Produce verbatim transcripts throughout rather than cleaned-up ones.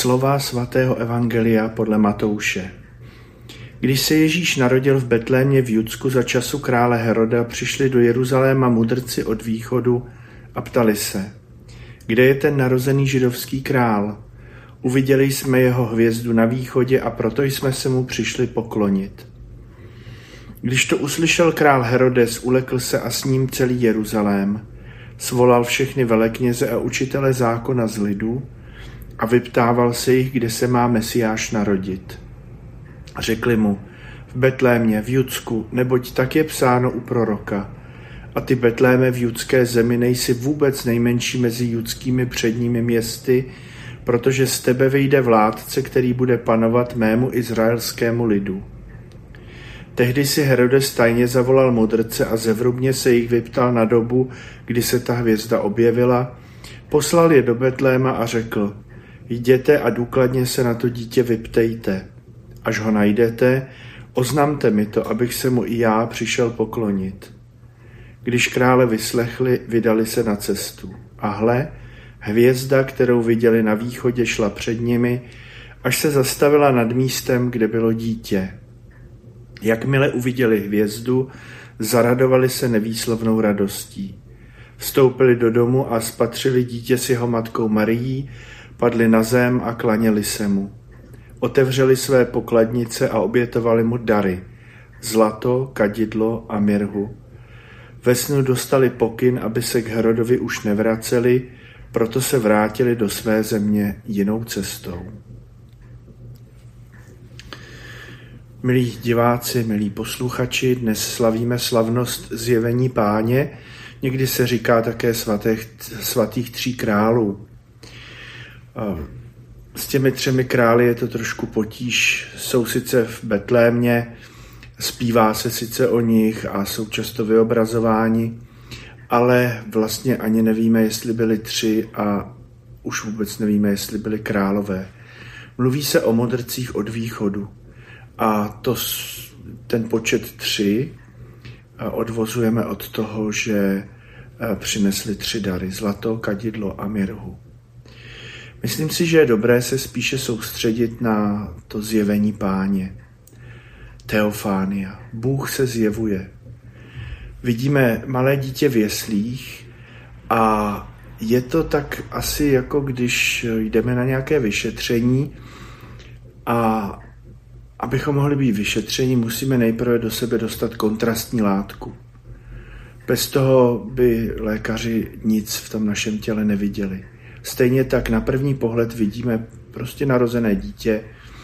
Slova svatého evangelia podle Matouše. Když se Ježíš narodil v Betlémě v Judsku za času krále Heroda, přišli do Jeruzaléma mudrci od východu a ptali se, kde je ten narozený židovský král? Uviděli jsme jeho hvězdu na východě a proto jsme se mu přišli poklonit. Když to uslyšel král Herodes, ulekl se a s ním celý Jeruzalém. Svolal všechny velekněze a učitele zákona z lidu a vyptával se jich, kde se má Mesiáš narodit. Řekli mu, v Betlémě, v Judsku, neboť tak je psáno u proroka. A ty Betléme v judské zemi nejsi vůbec nejmenší mezi judskými předními městy, protože z tebe vyjde vládce, který bude panovat mému izraelskému lidu. Tehdy si Herodes tajně zavolal mudrce a zevrubně se jich vyptal na dobu, kdy se ta hvězda objevila, poslal je do Betléma a řekl, jděte a důkladně se na to dítě vyptejte. Až ho najdete, oznamte mi to, abych se mu i já přišel poklonit. Když krále vyslechli, vydali se na cestu. A hle, hvězda, kterou viděli na východě, šla před nimi, až se zastavila nad místem, kde bylo dítě. Jakmile uviděli hvězdu, zaradovali se nevýslovnou radostí. Vstoupili do domu a spatřili dítě s jeho matkou Marií, padli na zem a klaněli se mu. Otevřeli své pokladnice a obětovali mu dary, zlato, kadidlo a mirhu. Ve snu dostali pokyn, aby se k Herodovi už nevraceli, proto se vrátili do své země jinou cestou. Milí diváci, milí posluchači, dnes slavíme slavnost Zjevení Páně, někdy se říká také svatých, svatých tří králů. S těmi třemi králi je to trošku potíž, jsou sice v Betlémě, zpívá se sice o nich a jsou často vyobrazováni, ale vlastně ani nevíme, jestli byli tři a už vůbec nevíme, jestli byli králové. Mluví se o mudrcích od východu a to, ten počet tři odvozujeme od toho, že přinesli tři dary, zlato, kadidlo a mirhu. Myslím si, že je dobré se spíše soustředit na to zjevení Páně. Teofánia. Bůh se zjevuje. Vidíme malé dítě v jeslích a je to tak asi jako když jdeme na nějaké vyšetření a abychom mohli být vyšetření, musíme nejprve do sebe dostat kontrastní látku. Bez toho by lékaři nic v tom našem těle neviděli. Stejně tak na první pohled vidíme prostě narozené dítě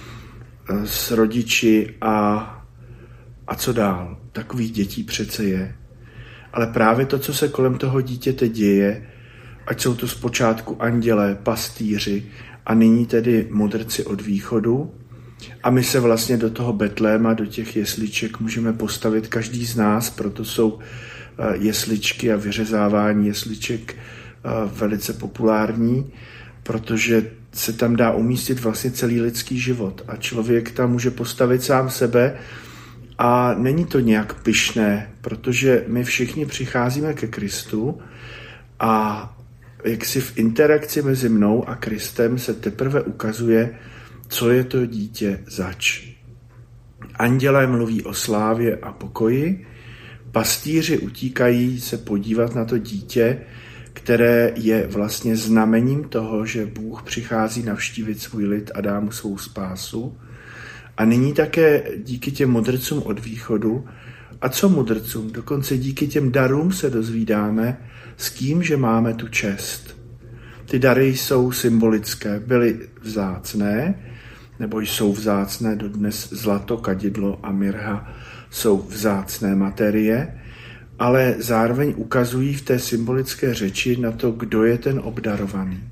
s rodiči a, a co dál. Takových dětí přece je. Ale právě to, co se kolem toho dítěte děje, ať jsou to zpočátku andělé, pastýři a nyní tedy mudrci od východu, a my se vlastně do toho Betléma, do těch jesliček můžeme postavit každý z nás, proto jsou jesličky a vyřezávání jesliček velice populární, protože se tam dá umístit vlastně celý lidský život a člověk tam může postavit sám sebe a není to nějak pyšné, protože my všichni přicházíme ke Kristu a jaksi v interakci mezi mnou a Kristem se teprve ukazuje, co je to dítě zač. Andělé mluví o slávě a pokoji, pastýři utíkají se podívat na to dítě, které je vlastně znamením toho, že Bůh přichází navštívit svůj lid a dá mu svou spásu. A nyní také díky těm mudrcům od východu. A co mudrcům? Dokonce díky těm darům se dozvídáme, s kým, že máme tu čest. Ty dary jsou symbolické, byly vzácné, nebo jsou vzácné dodnes zlato, kadidlo a mirha jsou vzácné materie, ale zároveň ukazují v té symbolické řeči na to, kdo je ten obdarovaný.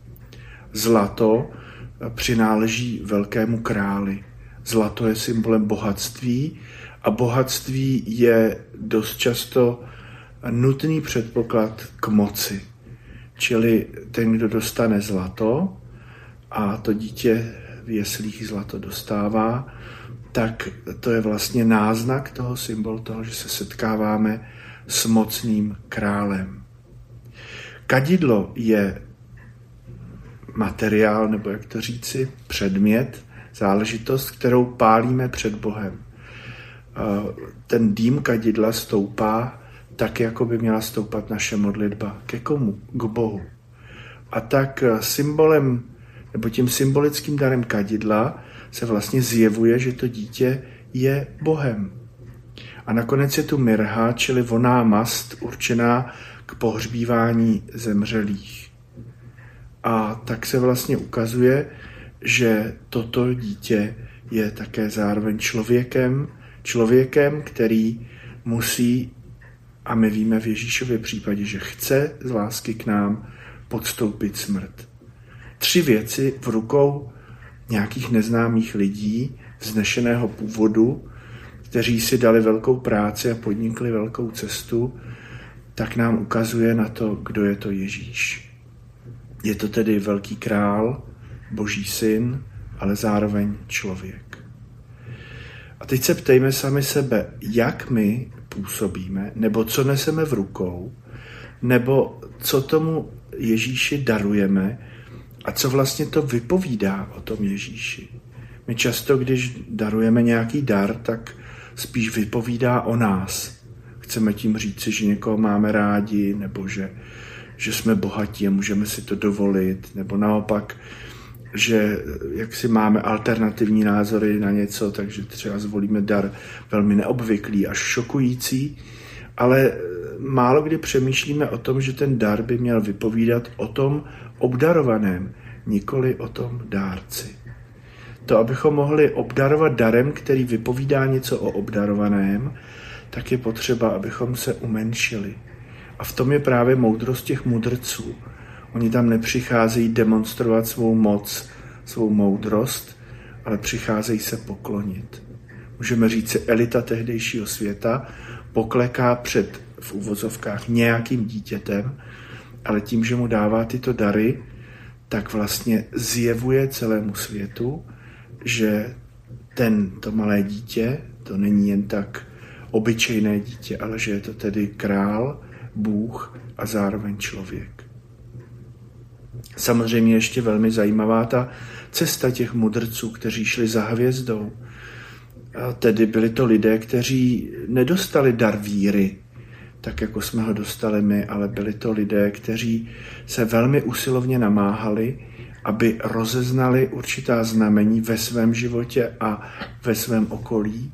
Zlato přináleží velkému králi. Zlato je symbolem bohatství a bohatství je dost často nutný předpoklad k moci. Čili ten, kdo dostane zlato a to dítě v jeslích zlato dostává, tak to je vlastně náznak toho, symbol toho, že se setkáváme s mocným králem. Kadidlo je materiál, nebo jak to říci, předmět, záležitost, kterou pálíme před Bohem. Ten dým kadidla stoupá tak, jako by měla stoupat naše modlitba. Ke komu? K Bohu. A tak symbolem, nebo tím symbolickým darem kadidla se vlastně zjevuje, že to dítě je Bohem. A nakonec je tu mirha, čili vonná mast určená k pohřbívání zemřelých. A tak se vlastně ukazuje, že toto dítě je také zároveň člověkem, člověkem, který musí, a my víme v Ježíšově případě, že chce z lásky k nám podstoupit smrt. Tři věci v rukou nějakých neznámých lidí vznešeného původu, kteří si dali velkou práci a podnikli velkou cestu, tak nám ukazuje na to, kdo je to Ježíš. Je to tedy velký král, Boží syn, ale zároveň člověk. A teď se ptejme sami sebe, jak my působíme, nebo co neseme v rukou, nebo co tomu Ježíši darujeme a co vlastně to vypovídá o tom Ježíši. My často, když darujeme nějaký dar, tak spíš vypovídá o nás. Chceme tím říci, že někoho máme rádi, nebo že, že jsme bohatí a můžeme si to dovolit, nebo naopak, že jak si máme alternativní názory na něco, takže třeba zvolíme dar velmi neobvyklý až šokující, ale málo kdy přemýšlíme o tom, že ten dar by měl vypovídat o tom obdarovaném, nikoli o tom dárci. To, abychom mohli obdarovat darem, který vypovídá něco o obdarovaném, tak je potřeba, abychom se umenšili. A v tom je právě moudrost těch mudrců. Oni tam nepřicházejí demonstrovat svou moc, svou moudrost, ale přicházejí se poklonit. Můžeme říct si, elita tehdejšího světa pokleká před, v uvozovkách, nějakým dítětem, ale tím, že mu dává tyto dary, tak vlastně zjevuje celému světu, že ten, to malé dítě, to není jen tak obyčejné dítě, ale že je to tedy král, Bůh a zároveň člověk. Samozřejmě ještě velmi zajímavá ta cesta těch mudrců, kteří šli za hvězdou. A tedy byli to lidé, kteří nedostali dar víry, tak jako jsme ho dostali my, ale byli to lidé, kteří se velmi usilovně namáhali, aby rozeznali určitá znamení ve svém životě a ve svém okolí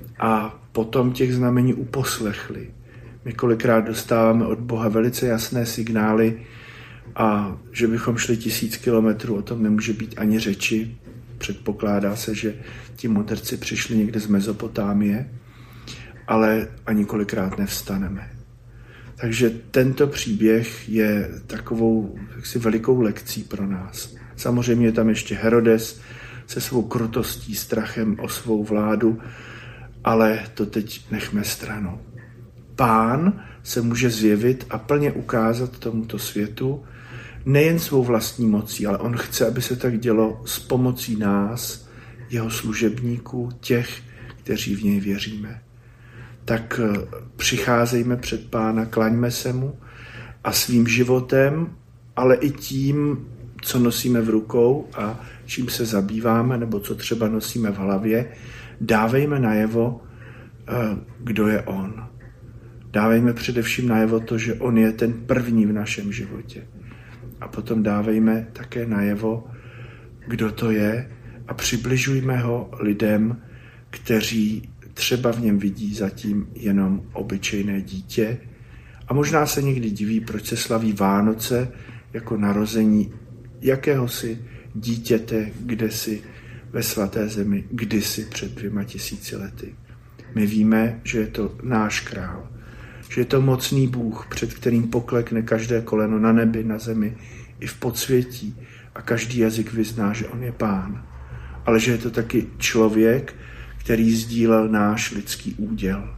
a potom těch znamení uposlechli. My kolikrát dostáváme od Boha velice jasné signály a že bychom šli tisíc kilometrů, o tom nemůže být ani řeči. Předpokládá se, že ti mudrci přišli někde z Mezopotámie, ale ani kolikrát nevstaneme. Takže tento příběh je takovou jaksi velikou lekcí pro nás. Samozřejmě je tam ještě Herodes se svou krutostí, strachem o svou vládu, ale to teď nechme stranou. Pán se může zjevit a plně ukázat tomuto světu nejen svou vlastní mocí, ale on chce, aby se tak dělo s pomocí nás, jeho služebníků, těch, kteří v něj věříme. Tak přicházejme před Pána, klaňme se mu a svým životem, ale i tím, co nosíme v rukou a čím se zabýváme, nebo co třeba nosíme v hlavě, dávejme najevo, kdo je on. Dávejme především najevo to, že on je ten první v našem životě. A potom dávejme také najevo, kdo to je a přibližujme ho lidem, kteří třeba v něm vidí zatím jenom obyčejné dítě a možná se někdy diví, proč se slaví Vánoce jako narození jakéhosi dítěte kdesi ve svaté zemi, kdysi před dvěma tisíci lety. My víme, že je to náš král, že je to mocný Bůh, před kterým poklekne každé koleno na nebi, na zemi i v podsvětí a každý jazyk vyzná, že on je Pán. Ale že je to taky člověk, který sdílel náš lidský úděl.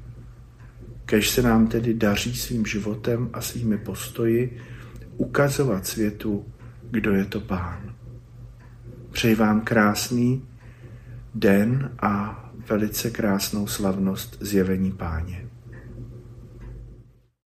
Kéž se nám tedy daří svým životem a svými postoji ukazovat světu, kdo je to Pán. Přeji vám krásný den a velice krásnou slavnost zjevení Páně.